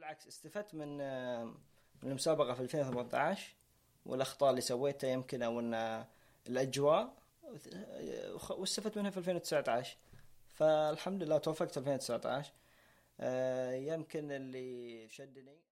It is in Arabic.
بالعكس استفدت من المسابقة في 2018 والأخطاء اللي سويتها يمكن، أو أن الأجواء، واستفدت منها في 2019. فالحمد لله توفقت في 2019. يمكن اللي شدني